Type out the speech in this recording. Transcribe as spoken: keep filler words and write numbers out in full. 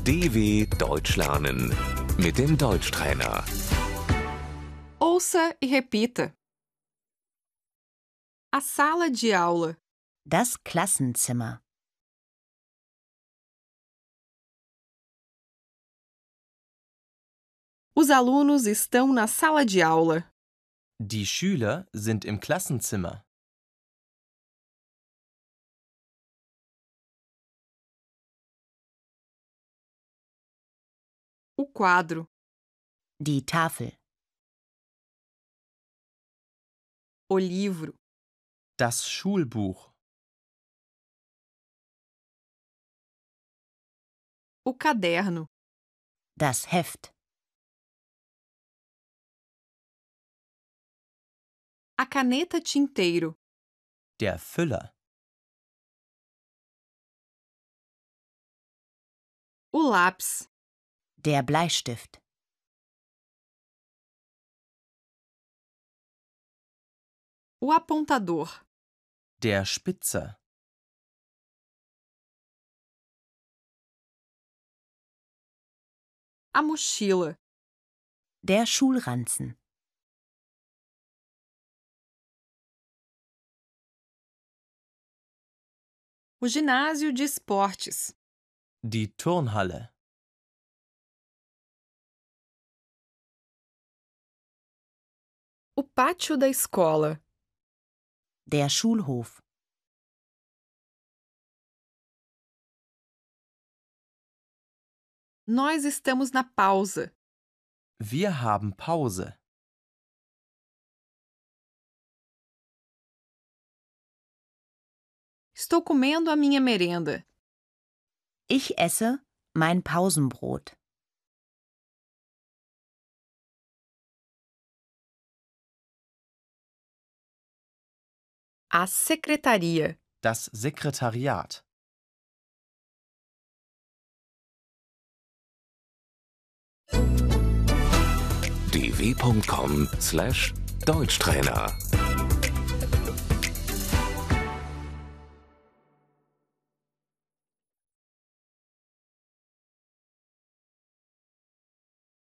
D W Deutsch lernen mit dem Deutschtrainer. Ouça e repita. A sala de aula. Das Klassenzimmer. Os alunos estão na sala de aula. Die Schüler sind im Klassenzimmer. O quadro. Die Tafel. O livro. Das Schulbuch. O caderno. Das Heft. A caneta tinteiro. Der Füller. O lápis. Der Bleistift. O apontador. Der Spitzer. A mochila. Der Schulranzen. O ginásio de esportes. Die Turnhalle. O pátio da escola. Der Schulhof. Nós estamos na pausa. Wir haben Pause. Estou comendo a minha merenda. Ich esse mein Pausenbrot. A secretaria. Das Sekretariat. d w punkt com slash Deutschtrainer